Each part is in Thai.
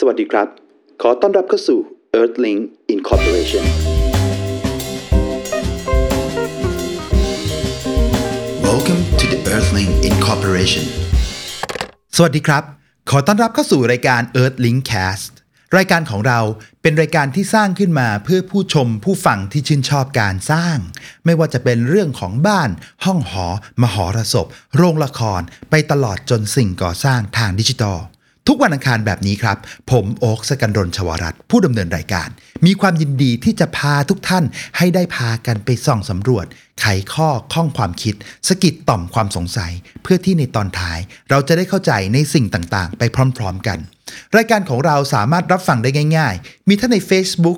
สวัสดีครับขอต้อนรับเข้าสู่ Earthlink Incorporation Welcome to the Earthlink Incorporation สวัสดีครับขอต้อนรับเข้าสู่รายการ Earthlink Cast รายการของเราเป็นรายการที่สร้างขึ้นมาเพื่อผู้ชมผู้ฟังที่ชื่นชอบการสร้างไม่ว่าจะเป็นเรื่องของบ้านห้องหอมหรสพโรงละครไปตลอดจนสิ่งก่อสร้างทางดิจิทัลทุกวันอังคารแบบนี้ครับผมโอ๊ค สกันดล ชวรัตน์ผู้ดำเนินรายการมีความยินดีที่จะพาทุกท่านให้ได้พากันไปส่องสำรวจไขข้อความคิดสะกิดต่อมความสงสัยเพื่อที่ในตอนท้ายเราจะได้เข้าใจในสิ่งต่างๆไปพร้อมๆกันรายการของเราสามารถรับฟังได้ง่ายๆมีทั้งใน Facebook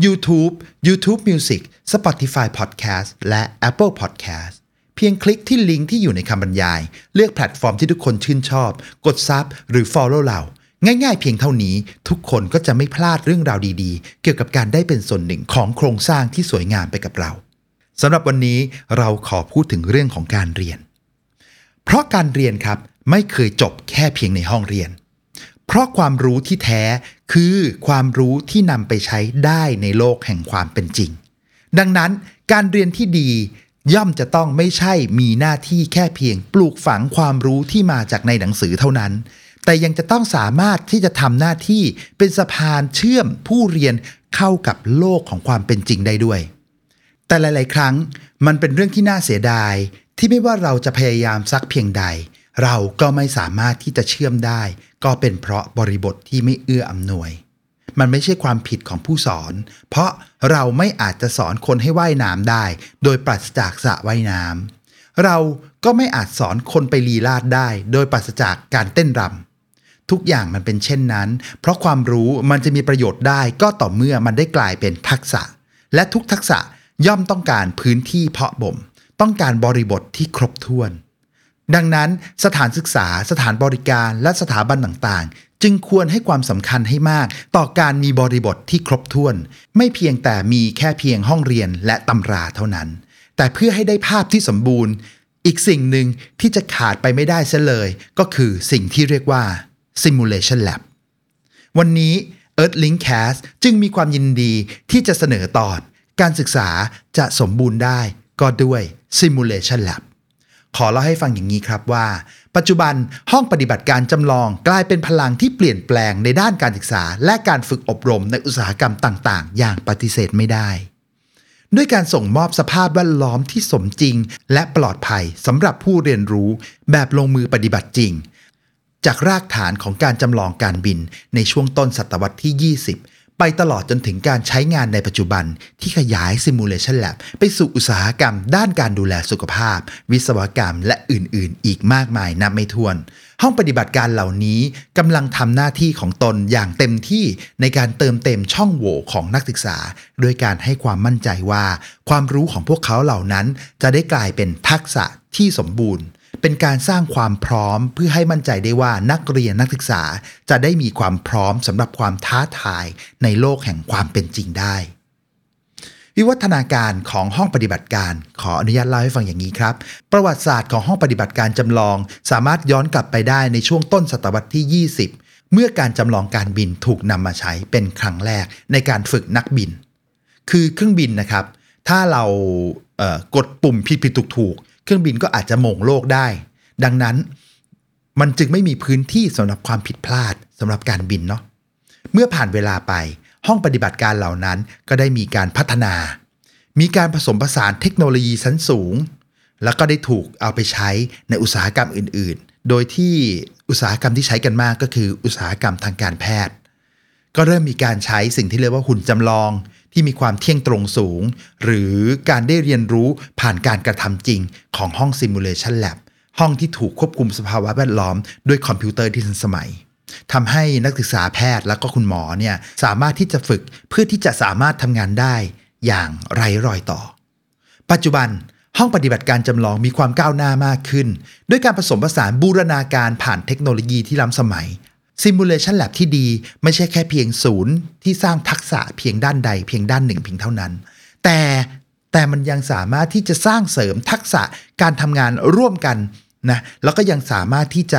YouTube Music Spotify Podcast และ Apple Podcastเพียงคลิกที่ลิงก์ที่อยู่ในคำบรรยายเลือกแพลตฟอร์มที่ทุกคนชื่นชอบกดซับหรือ Follow เราง่ายๆเพียงเท่านี้ทุกคนก็จะไม่พลาดเรื่องราวดีๆเกี่ยวกับการได้เป็นส่วนหนึ่งของโครงสร้างที่สวยงามไปกับเราสำหรับวันนี้เราขอพูดถึงเรื่องของการเรียนเพราะการเรียนครับไม่เคยจบแค่เพียงในห้องเรียนเพราะความรู้ที่แท้คือความรู้ที่นำไปใช้ได้ในโลกแห่งความเป็นจริงดังนั้นการเรียนที่ดีย่อมจะต้องไม่ใช่มีหน้าที่แค่เพียงปลูกฝังความรู้ที่มาจากในหนังสือเท่านั้นแต่ยังจะต้องสามารถที่จะทำหน้าที่เป็นสะพานเชื่อมผู้เรียนเข้ากับโลกของความเป็นจริงได้ด้วยแต่หลายๆครั้งมันเป็นเรื่องที่น่าเสียดายที่ไม่ว่าเราจะพยายามสักเพียงใดเราก็ไม่สามารถที่จะเชื่อมได้ก็เป็นเพราะบริบทที่ไม่เอื้ออำนวยมันไม่ใช่ความผิดของผู้สอนเพราะเราไม่อาจจะสอนคนให้ว่ายน้ำได้โดยปราศจากสระว่ายน้ำเราก็ไม่อาจสอนคนไปลีลาศได้โดยปราศจากการเต้นรำทุกอย่างมันเป็นเช่นนั้นเพราะความรู้มันจะมีประโยชน์ได้ก็ต่อเมื่อมันได้กลายเป็นทักษะและทุกทักษะย่อมต้องการพื้นที่เพาะบ่มต้องการบริบทที่ครบถ้วนดังนั้นสถานศึกษาสถานบริการและสถาบันต่างๆจึงควรให้ความสำคัญให้มากต่อการมีบริบทที่ครบถ้วนไม่เพียงแต่มีแค่เพียงห้องเรียนและตำราเท่านั้นแต่เพื่อให้ได้ภาพที่สมบูรณ์อีกสิ่งหนึ่งที่จะขาดไปไม่ได้เสียเลยก็คือสิ่งที่เรียกว่า Simulation Lab วันนี้ Earthlink Cast จึงมีความยินดีที่จะเสนอตอนการศึกษาจะสมบูรณ์ได้ก็ด้วย Simulation Labขอเล่าให้ฟังอย่างนี้ครับว่าปัจจุบันห้องปฏิบัติการจำลองกลายเป็นพลังที่เปลี่ยนแปลงในด้านการศึกษาและการฝึกอบรมในอุตสาหกรรมต่างๆอย่างปฏิเสธไม่ได้ด้วยการส่งมอบสภาพแวดล้อมที่สมจริงและปลอดภัยสำหรับผู้เรียนรู้แบบลงมือปฏิบัติจริงจากรากฐานของการจำลองการบินในช่วงต้นศตวรรษที่20ไปตลอดจนถึงการใช้งานในปัจจุบันที่ขยาย Simulation Lab ไปสู่อุตสาหกรรมด้านการดูแลสุขภาพวิศวกรรมและอื่นๆอีกมากมายนับไม่ถ้วนห้องปฏิบัติการเหล่านี้กำลังทำหน้าที่ของตนอย่างเต็มที่ในการเติมเต็มช่องโหว่ของนักศึกษาโดยการให้ความมั่นใจว่าความรู้ของพวกเขาเหล่านั้นจะได้กลายเป็นทักษะที่สมบูรณ์เป็นการสร้างความพร้อมเพื่อให้มั่นใจได้ว่านักเรียนนักศึกษาจะได้มีความพร้อมสำหรับความท้าทายในโลกแห่งความเป็นจริงได้วิวัฒนาการของห้องปฏิบัติการขออนุญาตเล่าให้ฟังอย่างนี้ครับประวัติศาสตร์ของห้องปฏิบัติการจำลองสามารถย้อนกลับไปได้ในช่วงต้นศตวรรษที่20เมื่อการจำลองการบินถูกนำมาใช้เป็นครั้งแรกในการฝึกนักบินคือเครื่องบินนะครับถ้าเรากดปุ่มผิดๆถูกๆเครื่องบินก็อาจจะโหม่งโลกได้ดังนั้นมันจึงไม่มีพื้นที่สำหรับความผิดพลาดสำหรับการบินเนาะเมื่อผ่านเวลาไปห้องปฏิบัติการเหล่านั้นก็ได้มีการพัฒนามีการผสมผสานเทคโนโลยีชั้นสูงแล้วก็ได้ถูกเอาไปใช้ในอุตสาหกรรมอื่นๆโดยที่อุตสาหกรรมที่ใช้กันมากก็คืออุตสาหกรรมทางการแพทย์ก็เริ่มมีการใช้สิ่งที่เรียกว่าหุ่นจำลองที่มีความเที่ยงตรงสูงหรือการได้เรียนรู้ผ่านการกระทำจริงของห้อง Simulation Lab ห้องที่ถูกควบคุมสภาวะแวดล้อมด้วยคอมพิวเตอร์ที่ทันสมัยทำให้นักศึกษาแพทย์และก็คุณหมอเนี่ยสามารถที่จะฝึกเพื่อที่จะสามารถทำงานได้อย่างไร้รอยต่อปัจจุบันห้องปฏิบัติการจำลองมีความก้าวหน้ามากขึ้นด้วยการผสมผสานบูรณาการผ่านเทคโนโลยีที่ล้ำสมัย Simulation Lab ที่ดีไม่ใช่แค่เพียงศูนย์ที่สร้างทักษะเพียงด้านใดเพียงด้านหนึ่งเพียงเท่านั้นแต่มันยังสามารถที่จะสร้างเสริมทักษะการทำงานร่วมกันนะแล้วก็ยังสามารถที่จะเส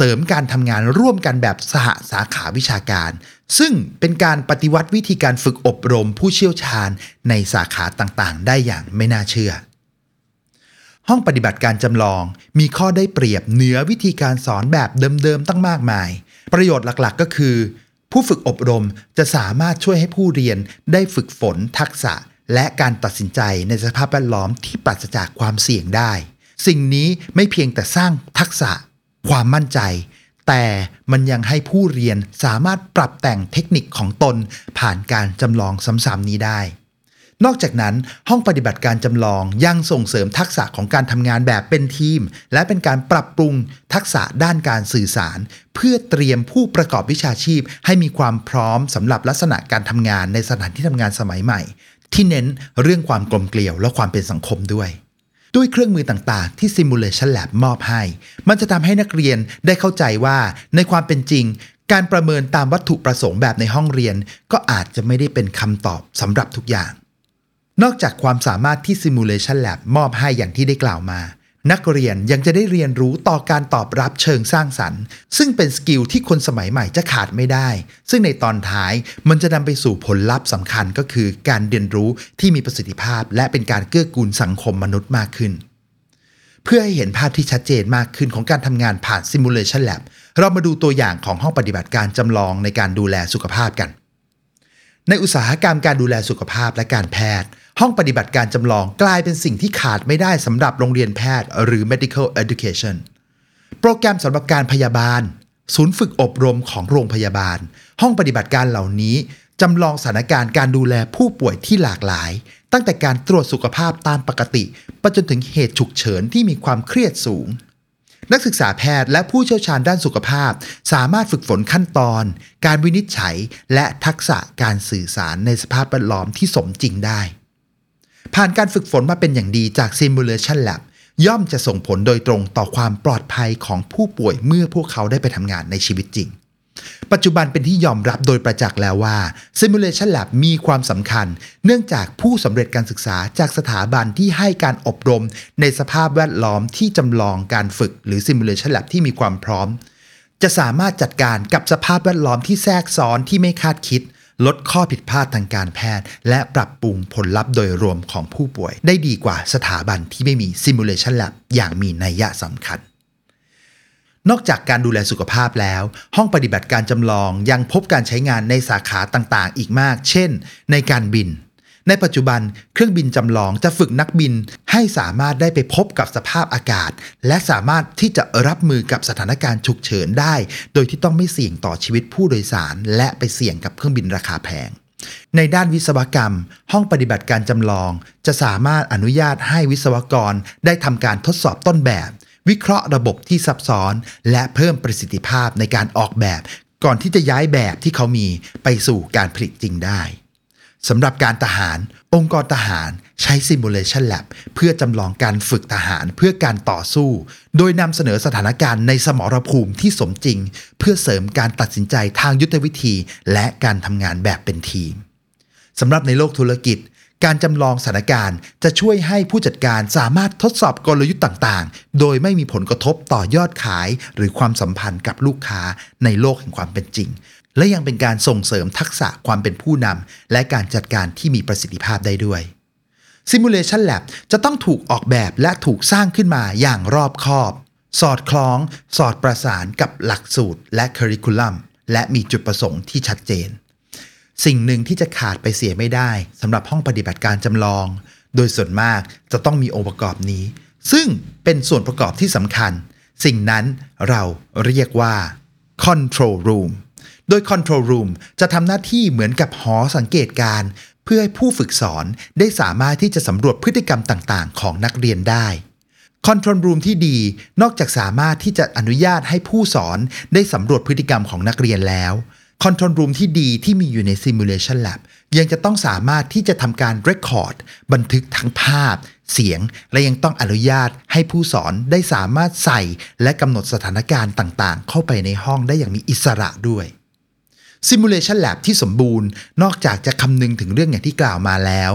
ริมการทำงานร่วมกันแบบสหสาขาวิชาการซึ่งเป็นการปฏิวัติวิธีการฝึกอบรมผู้เชี่ยวชาญในสาขาต่างๆได้อย่างไม่น่าเชื่อห้องปฏิบัติการจำลองมีข้อได้เปรียบเหนือวิธีการสอนแบบเดิมๆตั้งมากมายประโยชน์หลักๆก็คือผู้ฝึกอบรมจะสามารถช่วยให้ผู้เรียนได้ฝึกฝนทักษะและการตัดสินใจในสภาพแวดล้อมที่ปราศจากความเสี่ยงได้สิ่งนี้ไม่เพียงแต่สร้างทักษะความมั่นใจแต่มันยังให้ผู้เรียนสามารถปรับแต่งเทคนิคของตนผ่านการจำลองซ้ำๆนี้ได้นอกจากนั้นห้องปฏิบัติการจำลองยังส่งเสริมทักษะของการทำงานแบบเป็นทีมและเป็นการปรับปรุงทักษะด้านการสื่อสารเพื่อเตรียมผู้ประกอบวิชาชีพให้มีความพร้อมสำหรับลักษณะการทำงานในสถานที่ทำงานสมัยใหม่ที่เน้นเรื่องความกลมเกลียวและความเป็นสังคมด้วยเครื่องมือต่างๆที่ Simulation Lab มอบให้มันจะทำให้นักเรียนได้เข้าใจว่าในความเป็นจริงการประเมินตามวัตถุประสงค์แบบในห้องเรียนก็อาจจะไม่ได้เป็นคำตอบสำหรับทุกอย่างนอกจากความสามารถที่ Simulation Lab มอบให้อย่างที่ได้กล่าวมานักเรียนยังจะได้เรียนรู้ต่อการตอบรับเชิงสร้างสรรค์ซึ่งเป็นสกิลที่คนสมัยใหม่จะขาดไม่ได้ซึ่งในตอนท้ายมันจะนำไปสู่ผลลัพธ์สำคัญก็คือการเรียนรู้ที่มีประสิทธิภาพและเป็นการเกื้อกูลสังคมมนุษย์มากขึ้นเพื่อให้เห็นภาพที่ชัดเจนมากขึ้นของการทำงานผ่าน Simulation Lab เรามาดูตัวอย่างของห้องปฏิบัติการจำลองในการดูแลสุขภาพกันในอุตสาหกรรมการดูแลสุขภาพและการแพทย์ห้องปฏิบัติการจำลองกลายเป็นสิ่งที่ขาดไม่ได้สำหรับโรงเรียนแพทย์หรือ medical education โปรแกรมสำหรับการพยาบาลศูนย์ฝึกอบรมของโรงพยาบาลห้องปฏิบัติการเหล่านี้จำลองสถานการณ์การดูแลผู้ป่วยที่หลากหลายตั้งแต่การตรวจสุขภาพตามปกติไปจนถึงเหตุฉุกเฉินที่มีความเครียดสูงนักศึกษาแพทย์และผู้เชี่ยวชาญด้านสุขภาพสามารถฝึกฝนขั้นตอนการวินิจฉัยและทักษะการสื่อสารในสภาพแวดล้อมที่สมจริงได้ผ่านการฝึกฝนมาเป็นอย่างดีจาก Simulation Lab ย่อมจะส่งผลโดยตรงต่อความปลอดภัยของผู้ป่วยเมื่อพวกเขาได้ไปทำงานในชีวิตจริงปัจจุบันเป็นที่ยอมรับโดยประจักษ์แล้วว่า Simulation Lab มีความสำคัญเนื่องจากผู้สำเร็จการศึกษาจากสถาบันที่ให้การอบรมในสภาพแวดล้อมที่จำลองการฝึกหรือ Simulation Lab ที่มีความพร้อมจะสามารถจัดการกับสภาพแวดล้อมที่แทรกซ้อนที่ไม่คาดคิดลดข้อผิดพลาดทางการแพทย์และปรับปรุงผลลัพธ์โดยรวมของผู้ป่วยได้ดีกว่าสถาบันที่ไม่มี Simulation Lab อย่างมีนัยสำคัญนอกจากการดูแลสุขภาพแล้วห้องปฏิบัติการจำลองยังพบการใช้งานในสาขาต่างๆอีกมากเช่นในการบินในปัจจุบันเครื่องบินจำลองจะฝึกนักบินให้สามารถได้ไปพบกับสภาพอากาศและสามารถที่จะรับมือกับสถานการณ์ฉุกเฉินได้โดยที่ต้องไม่เสี่ยงต่อชีวิตผู้โดยสารและไปเสี่ยงกับเครื่องบินราคาแพงในด้านวิศวกรรมห้องปฏิบัติการจำลองจะสามารถอนุญาตให้วิศวกรได้ทำการทดสอบต้นแบบวิเคราะห์ระบบที่ซับซ้อนและเพิ่มประสิทธิภาพในการออกแบบก่อนที่จะย้ายแบบที่เขามีไปสู่การผลิตจริงได้สำหรับการทหารองค์กรทหารใช้ Simulation Lab เพื่อจำลองการฝึกทหารเพื่อการต่อสู้โดยนำเสนอสถานการณ์ในสมรภูมิที่สมจริงเพื่อเสริมการตัดสินใจทางยุทธวิธีและการทำงานแบบเป็นทีมสำหรับในโลกธุรกิจการจำลองสถานการณ์จะช่วยให้ผู้จัดการสามารถทดสอบกลยุทธ์ต่างๆโดยไม่มีผลกระทบต่อยอดขายหรือความสัมพันธ์กับลูกค้าในโลกแห่งความเป็นจริงและยังเป็นการส่งเสริมทักษะความเป็นผู้นำและการจัดการที่มีประสิทธิภาพได้ด้วย Simulation Lab จะต้องถูกออกแบบและถูกสร้างขึ้นมาอย่างรอบคอบสอดคล้องสอดประสานกับหลักสูตรและคริคูลัมและมีจุดประสงค์ที่ชัดเจนสิ่งหนึ่งที่จะขาดไปเสียไม่ได้สำหรับห้องปฏิบัติการจำลองโดยส่วนมากจะต้องมีองค์ประกอบนี้ซึ่งเป็นส่วนประกอบที่สำคัญสิ่งนั้นเราเรียกว่า Control Room โดย Control Room จะทำหน้าที่เหมือนกับหอสังเกตการณ์เพื่อให้ผู้ฝึกสอนได้สามารถที่จะสำรวจพฤติกรรมต่างๆของนักเรียนได้ Control Room ที่ดีนอกจากสามารถที่จะอนุญาตให้ผู้สอนได้สำรวจพฤติกรรมของนักเรียนแล้วControl Room ที่ดีที่มีอยู่ใน Simulation Lab ยังจะต้องสามารถที่จะทำการ Record บันทึกทั้งภาพเสียงและยังต้องอนุญาตให้ผู้สอนได้สามารถใส่และกำหนดสถานการณ์ต่างๆเข้าไปในห้องได้อย่างมีอิสระด้วย Simulation Lab ที่สมบูรณ์นอกจากจะคำนึงถึงเรื่องอย่างที่กล่าวมาแล้ว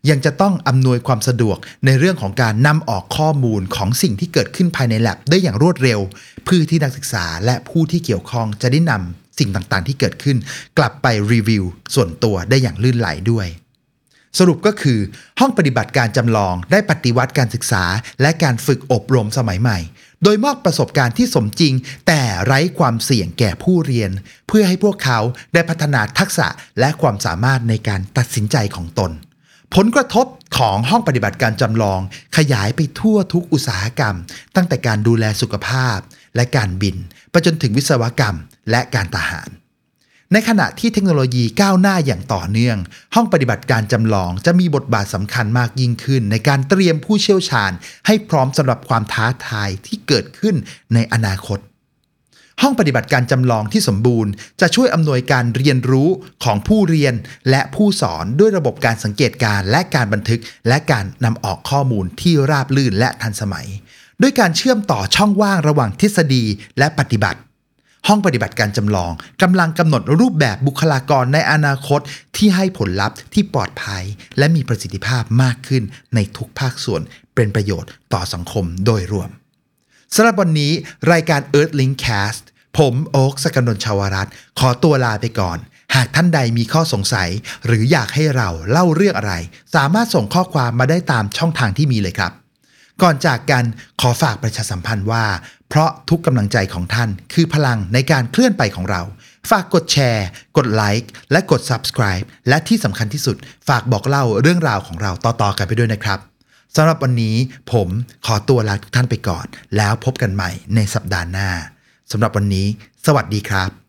ยังจะต้องอำนวยความสะดวกในเรื่องของการนำออกข้อมูลของสิ่งที่เกิดขึ้นภายใน lab ได้อย่างรวดเร็วเพื่อที่นักศึกษาและผู้ที่เกี่ยวข้องจะได้นำสิ่งต่างๆที่เกิดขึ้นกลับไปรีวิวส่วนตัวได้อย่างลื่นไหลด้วยสรุปก็คือห้องปฏิบัติการจำลองได้ปฏิวัติการศึกษาและการฝึกอบรมสมัยใหม่โดยมอบประสบการณ์ที่สมจริงแต่ไร้ความเสี่ยงแก่ผู้เรียนเพื่อให้พวกเขาได้พัฒนาทักษะและความสามารถในการตัดสินใจของตนผลกระทบของห้องปฏิบัติการจำลองขยายไปทั่วทุกอุตสาหกรรมตั้งแต่การดูแลสุขภาพและการบินไปจนถึงวิศวกรรมและการทหารในขณะที่เทคโนโลยีก้าวหน้าอย่างต่อเนื่องห้องปฏิบัติการจำลองจะมีบทบาทสำคัญมากยิ่งขึ้นในการเตรียมผู้เชี่ยวชาญให้พร้อมสำหรับความท้าทายที่เกิดขึ้นในอนาคตห้องปฏิบัติการจำลองที่สมบูรณ์จะช่วยอำนวยการเรียนรู้ของผู้เรียนและผู้สอนด้วยระบบการสังเกตการณ์และการบันทึกและการนำออกข้อมูลที่ราบรื่นและทันสมัยด้วยการเชื่อมต่อช่องว่างระหว่างทฤษฎีและปฏิบัติห้องปฏิบัติการจำลองกำลังกำหนดรูปแบบบุคลากรในอนาคตที่ให้ผลลัพธ์ที่ปลอดภัยและมีประสิทธิภาพมากขึ้นในทุกภาคส่วนเป็นประโยชน์ต่อสังคมโดยรวมสำหรับวันนี้รายการ Earthlink Cast ผมโอ๊ค สกลน ชวรัตน์ขอตัวลาไปก่อนหากท่านใดมีข้อสงสัยหรืออยากให้เราเล่าเรื่องอะไรสามารถส่งข้อความมาได้ตามช่องทางที่มีเลยครับก่อนจากกันขอฝากประชาสัมพันธ์ว่าเพราะทุกกำลังใจของท่านคือพลังในการเคลื่อนไปของเราฝากกดแชร์กดไลค์และกด Subscribe และที่สำคัญที่สุดฝากบอกเล่าเรื่องราวของเราต่อๆกันไปด้วยนะครับสำหรับวันนี้ผมขอตัวลาทุกท่านไปก่อนแล้วพบกันใหม่ในสัปดาห์หน้าสำหรับวันนี้สวัสดีครับ